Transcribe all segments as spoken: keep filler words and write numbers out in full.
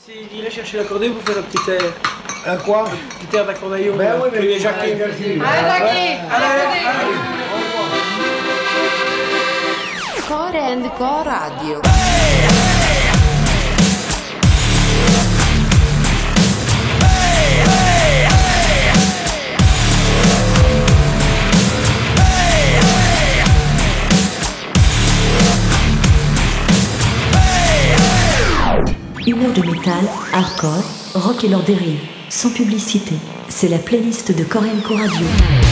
Il irait chercher l'accordéon pour faire un petit air. Un quoi? Un petit air d'accordéon. Ben oui, mais que les Jacqueline. Allez, Jackie! Allez, allez. Core and Co Radio. Une heure de métal, hardcore, rock et leurs dérives, sans publicité. C'est la playlist de Core and Co Radio.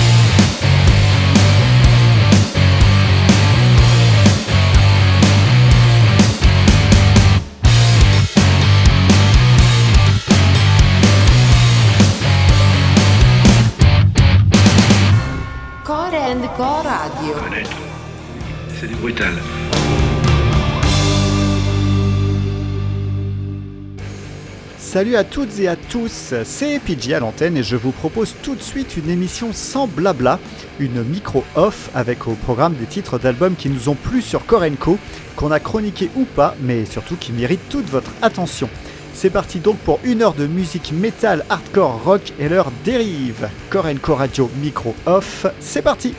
Core and Co Radio. Connaître, c'est du brutal. Salut à toutes et à tous, c'est P J à l'antenne et je vous propose tout de suite une émission sans blabla, une micro-off avec au programme des titres d'albums qui nous ont plu sur Core and Co, qu'on a chroniqué ou pas, mais surtout qui méritent toute votre attention. C'est parti donc pour une heure de musique métal, hardcore, rock et leurs dérives. Core and Co Radio micro-off, c'est parti!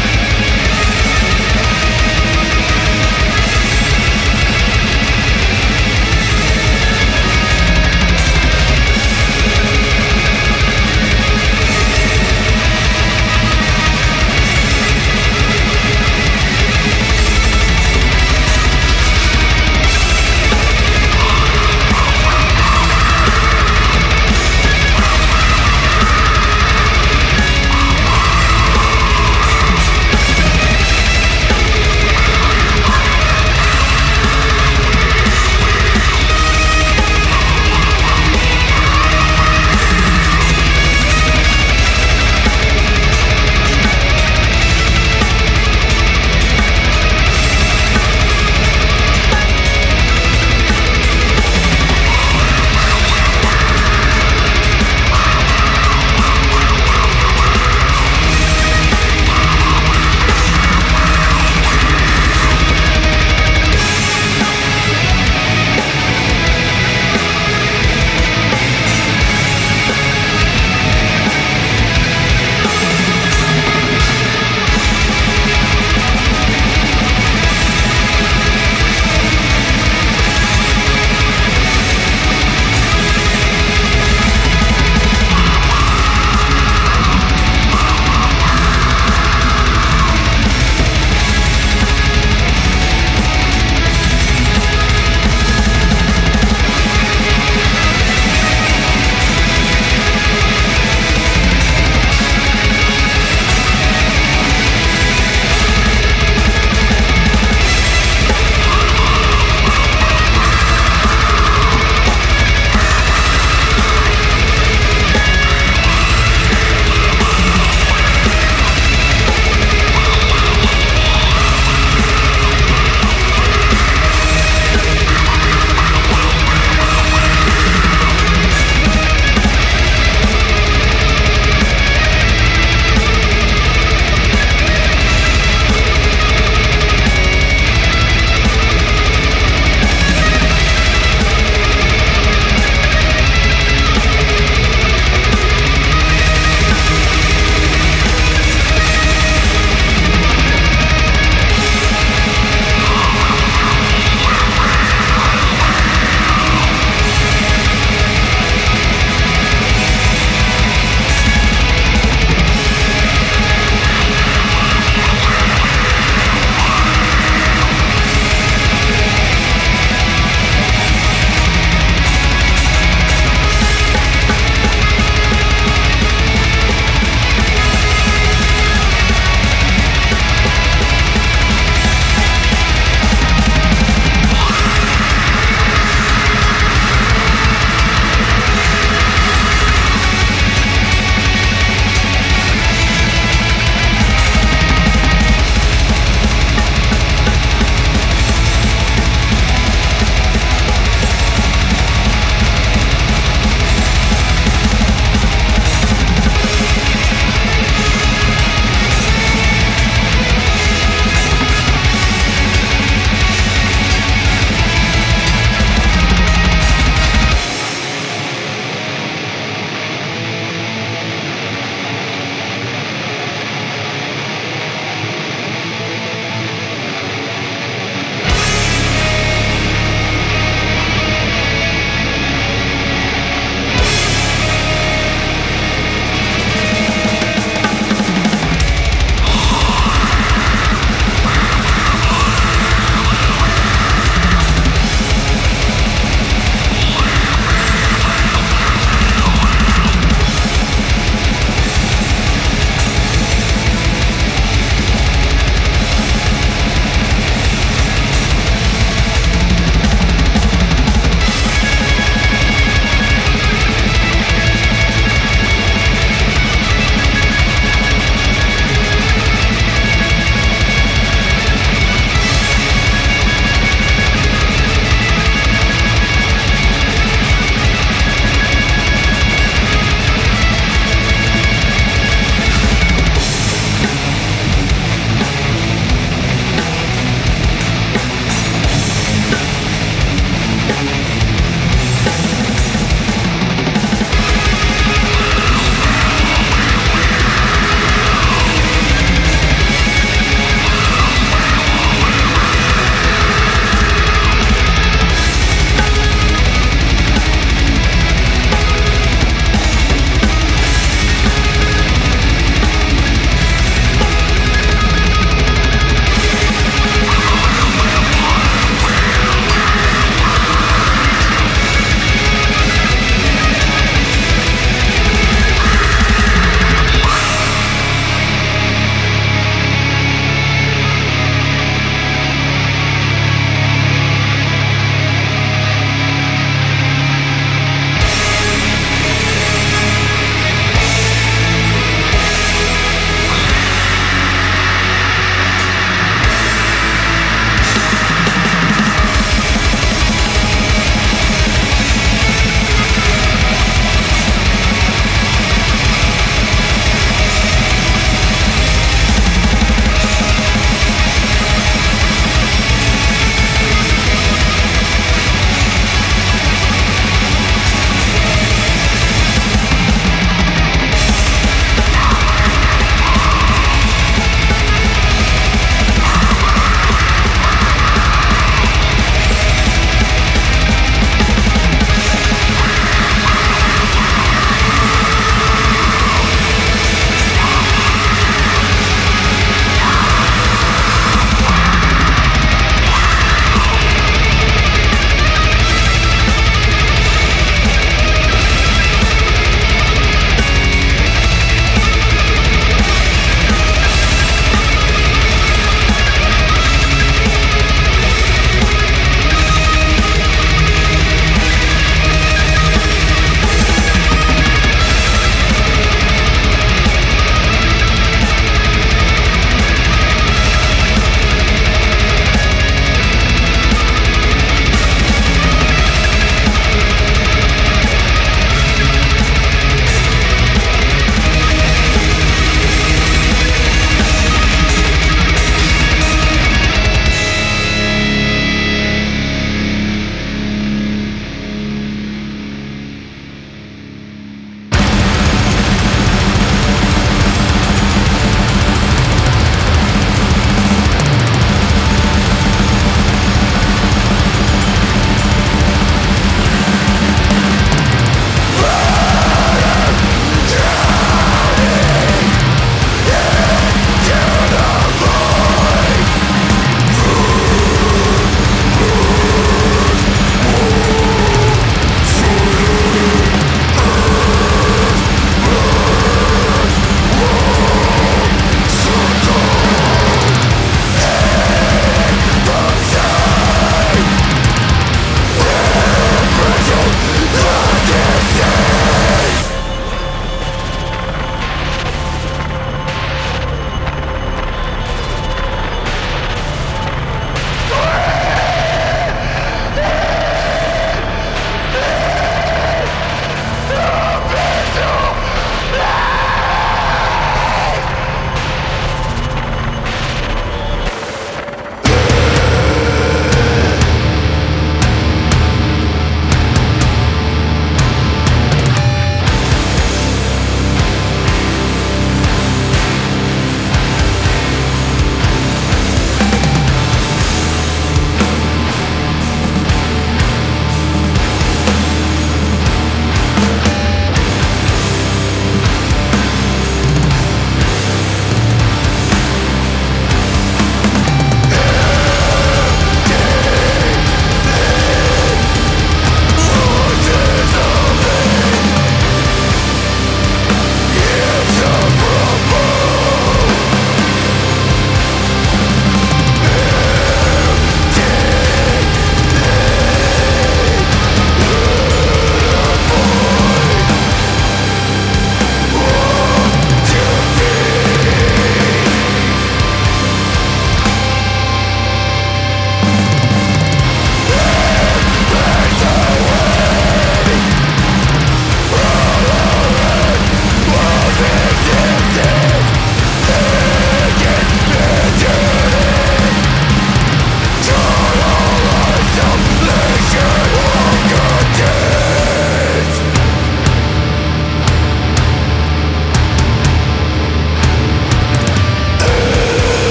We'll be right back.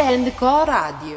and Co Radio.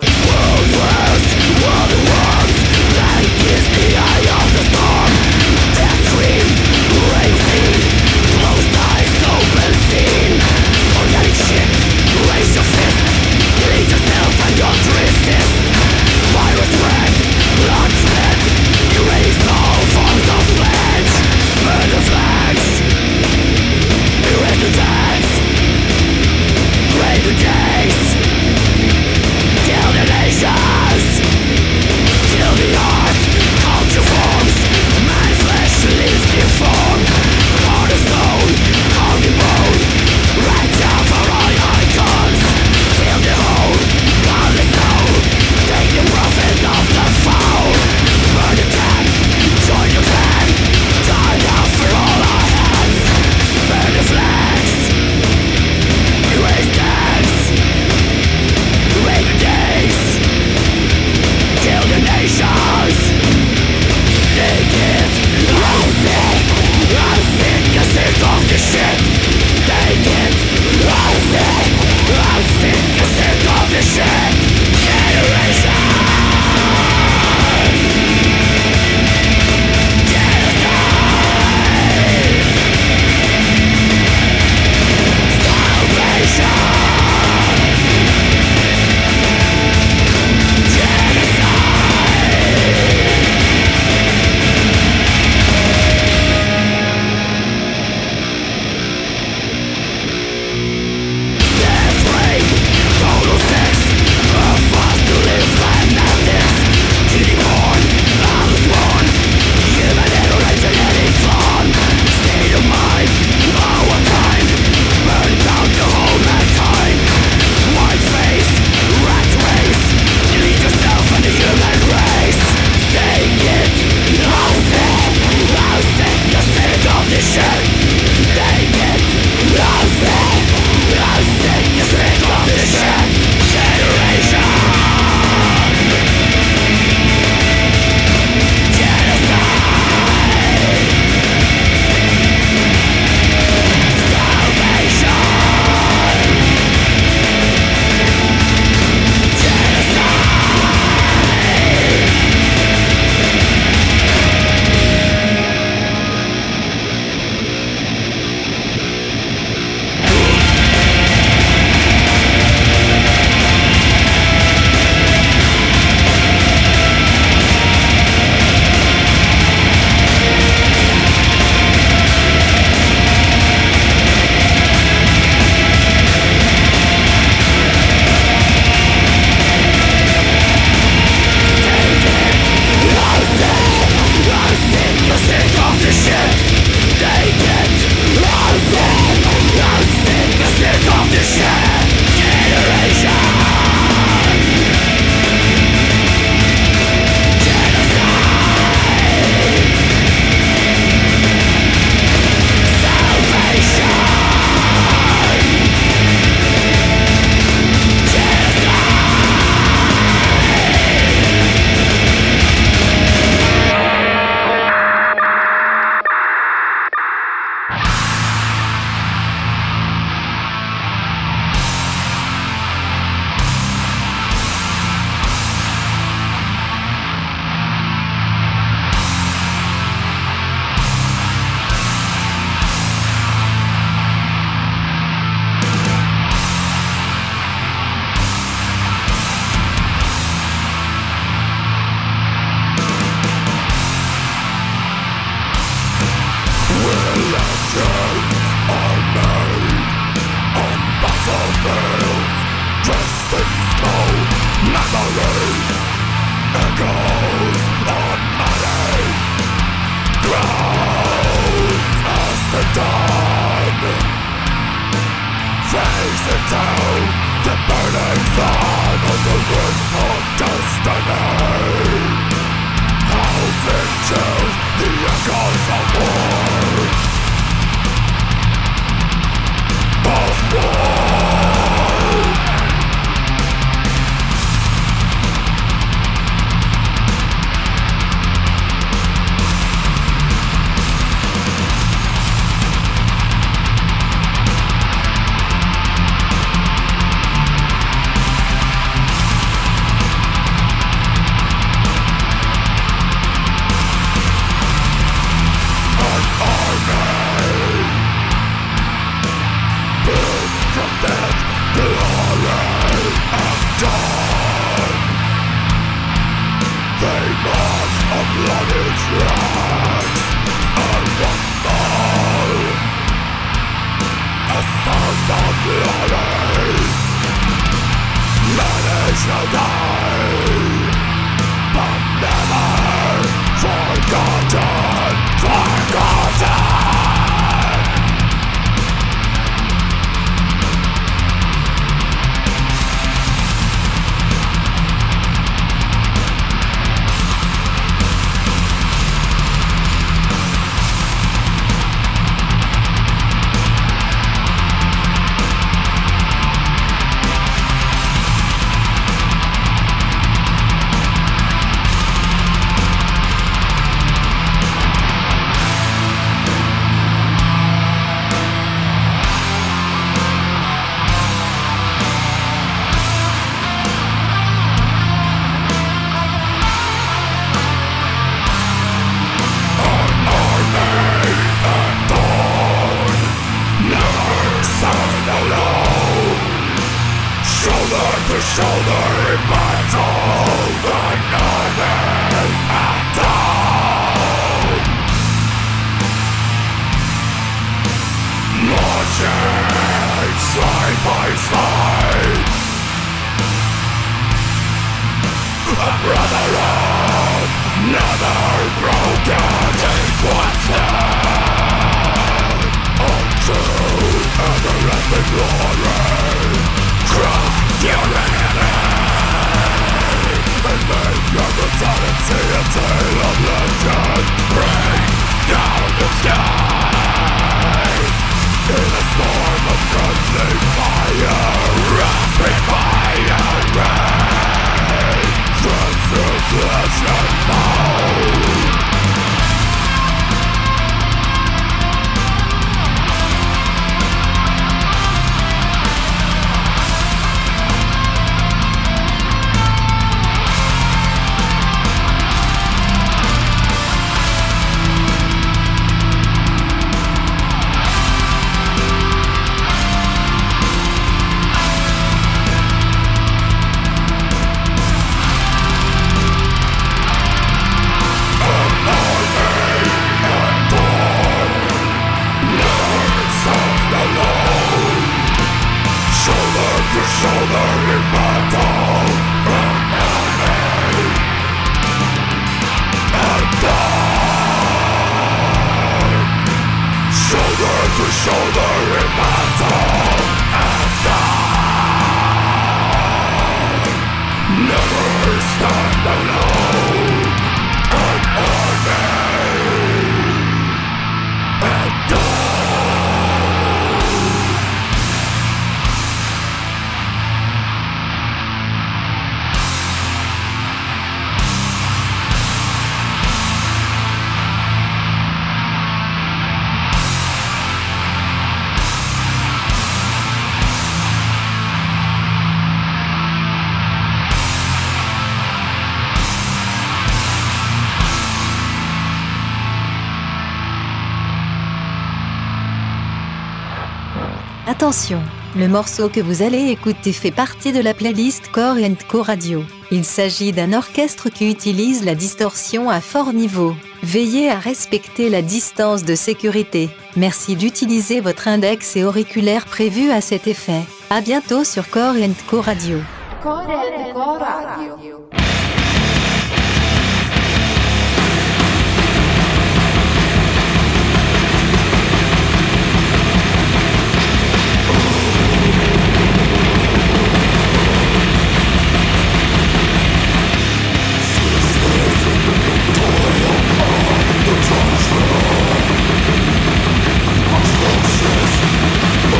Attention, le morceau que vous allez écouter fait partie de la playlist Core and Co Radio. Il s'agit d'un orchestre qui utilise la distorsion à fort niveau. Veillez à respecter la distance de sécurité. Merci d'utiliser votre index et auriculaire prévus à cet effet. À bientôt sur Core and Co Radio. Core and Co Radio.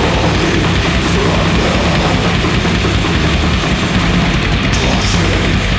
Pushing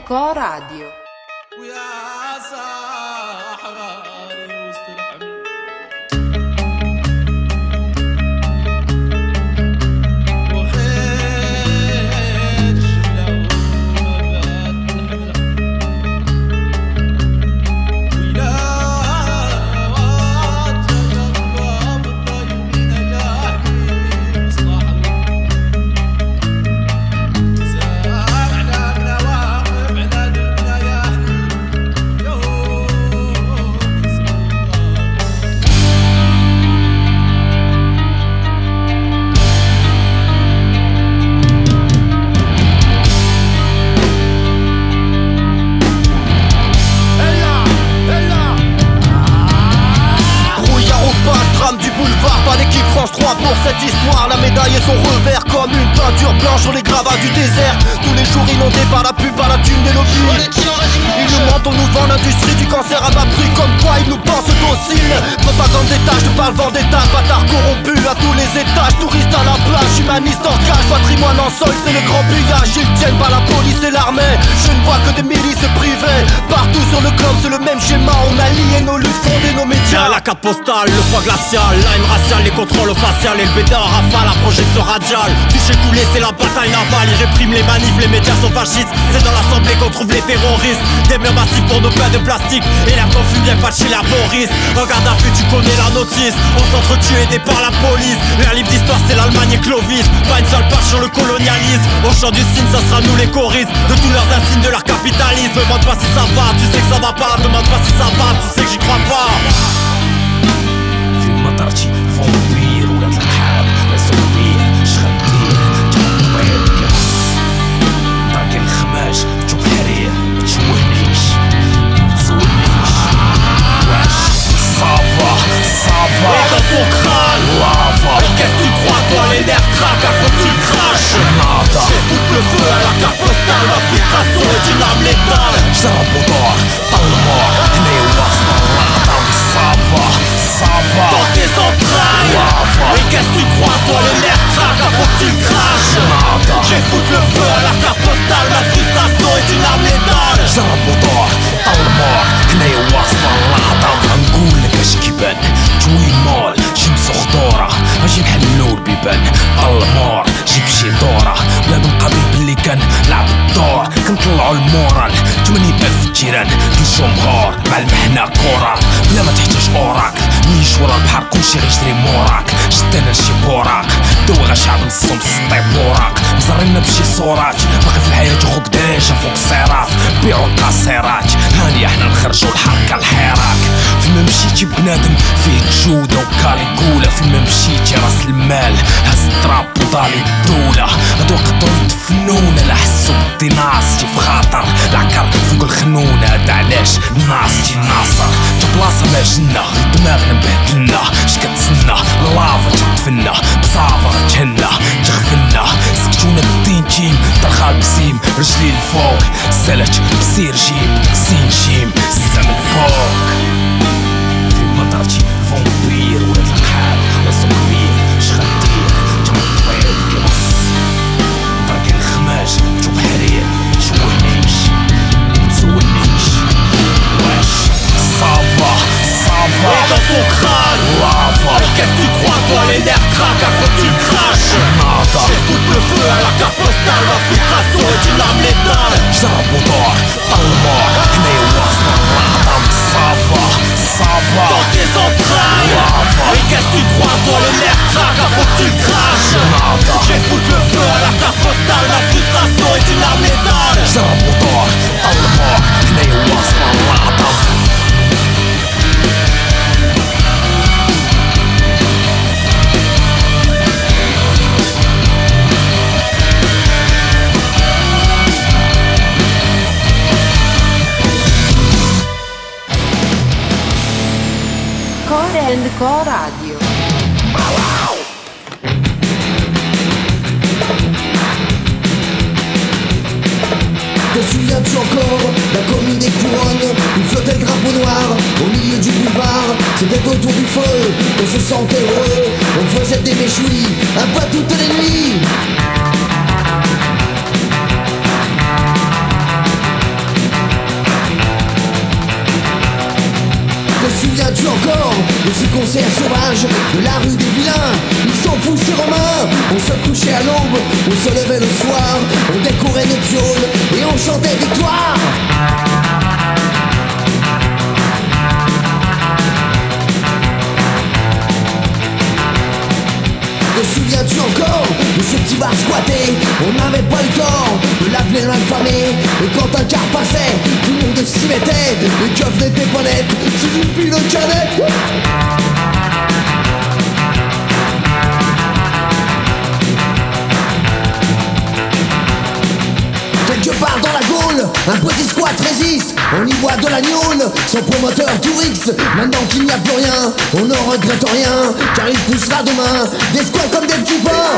Co Radio. Pour cette histoire, la médaille et son revers comme une peinture blanche sur les gravats du désert. Tous les jours inondés par la pub, par la thune des lobbies. Ils nous mentent, on nous vend l'industrie du cancer à bas prix. Comme quoi ils nous pensent dociles. Propagande d'État, je te parle vendetta. Bâtard corrompu à tous les étages. Touristes à la plage, humanistes en cage. Patrimoine en sol, c'est le grand pillage. Ils tiennent par la police et l'armée. Je ne vois que des milices privées. Partout sur le globe, c'est le même schéma. On a lié nos luttes, fondé nos médias. La carte postale, le foie glacial, la haine raciale, les contrôles au facial et le bêta en rafale, la projection radiale. Touché coulé, c'est la bataille navale. Ils répriment les manifs, les médias sont fascistes. C'est dans l'assemblée qu'on trouve les terroristes. Des murs massifs pour nos pains de plastique. Et l'air confus vient pas de chez la Boris. Regarde à vue, tu connais la notice. On s'entretue aidé par la police. Leur livre d'histoire, c'est l'Allemagne et Clovis. Pas une seule page sur le colonialisme. Au chant du cygne, ça sera nous les choristes. De tous leurs insignes, de leur capitalisme. Demande pas si ça va, tu sais que ça va pas. Demande pas si ça va, tu sais que j'y crois pas. مطرتي فومبير ولا الحاب لازم بيه شغديه تنطيب قرص طاق الخماش تشوف حرير متشوهنيش متزولنيش واش صافا صافا Et dans ton crâne, lava mais qu'est-ce que tu crois toi, les nerfs craquent, à faut que tu le craches. nada J'ai tout le feu à la carte postale. Ma frustration est une arme létale. جرب ودار طلمار هنا وسط العظم صافا صافا Dans tes entrailles, lava mais qu'est-ce que tu crois toi, les nerfs craquent, à faut que tu le craches. nada J'ai foutu le feu à la carte postale. Ma frustration est une arme létale. جرب ودار طلمار هنا وسط العظم نقول لك اش كيبان جوي مال شمس خضورة اجي نحلو البيبان المار جيب شي دورة بلا بنقضي باللي كان لعب الدور كنطلعو المورال ثمانين ألف جيران في الجمهور مع المحنة كورة بلا ما تحتاج اوراك نيش ورا البحر كلشي غيجري موراك شدنا شي بوراق دوغا شعب نصهم سطي بوراق مزرنا بشي صورات باقي في الحياة خوك ديجا فوق الصراط بيعو القاصرات هاني احنا نخرجو الحركة الحراك فيما مشيتي بنادم فيه جودة وكاليكولا فيما مشيتي راس المال هز التراب وضالي الدولة هادو يقدرو يدفنونا لا حسو بدي ناصتي في خاطر العكر فوق الخنونة هدا علاش ناصتي ناصر تا بلاصة ما جنة دماغنا مبهدلنا شكتسنا لافا تدفنا بصافا غتهنا تغفلنا سكتونا بالدين تيم درخال بسيم رجلي الفوق سلت بسير جيب سين جيم السما الفوق في مطرتي فومبير ولاد الحال راسو كبير شغدير تنطيب قرص طرق الخماش تشوف حرير متشوهنيش متزولنيش واش صافا صافا Et dans ton crâne, lava mais qu'est-ce que tu crois toi, les nerfs craquent, à faut que tu le craches. nada J'ai tout le feu à la carte postale. Ma frustration est une arme létale. جرب ودار طلمار هنا وسط العظم صافا صافا Dans tes entrailles, lava mais qu'est-ce que tu crois toi, les nerfs craquent, à faut que tu le craches. nada J'ai foutu le feu à la carte postale. Ma frustration est une arme létale. جرب ودار طلمار هنا وسط العظم Core and Co Radio. Te souviens-tu encore la commune des couronnes où flottait le drapeau noir au milieu du boulevard? C'était autour du feu, on se sentait heureux, on faisait des méchouilles un peu toutes les nuits. souviens-tu encore de ces concerts sauvages de la rue des vilains? Ils s'en foutent ces Romains. On se couchait à l'aube, on se levait le soir, on décorait nos pioles et on chantait victoire. Te souviens-tu encore de ce petit bar squatté? On n'avait pas le tort de l'appeler l'infamé. Et quand un car passait, tout le monde s'y mettait. Les keufs n'étaient pas nettes, c'est une pile de canettes. Quelque part dans la Gaule, un petit squat résiste. On y boit de la gnôle, son promoteur touriste. Maintenant qu'il n'y a plus rien, on ne regrette rien, car il poussera demain des squats comme des petits pains.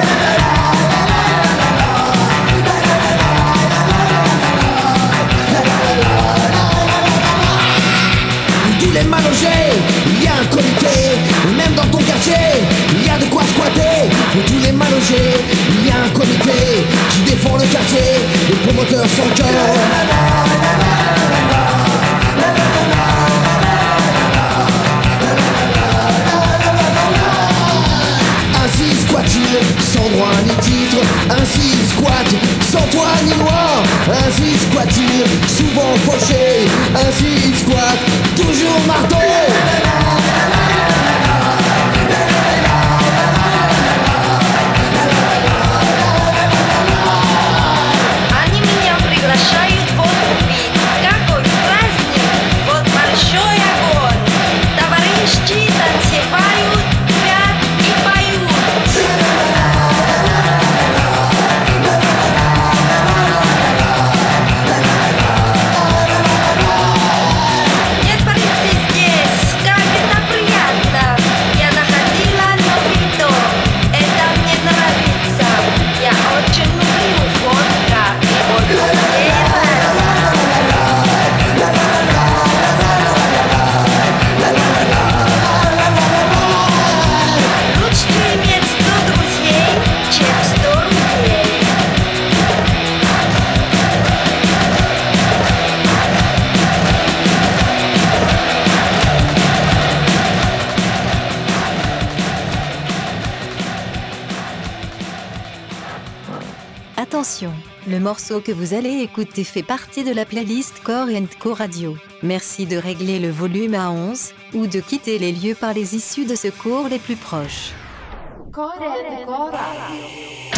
Tous les mal logés, il y a un comité. Et même dans ton quartier, il y a de quoi squatter. Pour tous les mal logés, il y a un comité qui défend le quartier, les promoteurs sans cœur. Ainsi squat-il, sans droit ni titre. Ainsi squat, sans toit ni loi. Ainsi squat-il, souvent fauché. Ainsi squat, toujours marteau. Они меня приглашают водку пить. Какой праздник, вот большой огонь. Товарищи танцевают, пят и поют. Нет полиции здесь, как это приятно. Я находила новый дом, это мне нравится. Я очень люблю водка и водку лучше иметь сто друзей, чем сто рублей. Attention, le morceau que vous allez écouter fait partie de la playlist Core and Co Radio. Merci de régler le volume à onze ou de quitter les lieux par les issues de secours les plus proches. Core and Co Radio.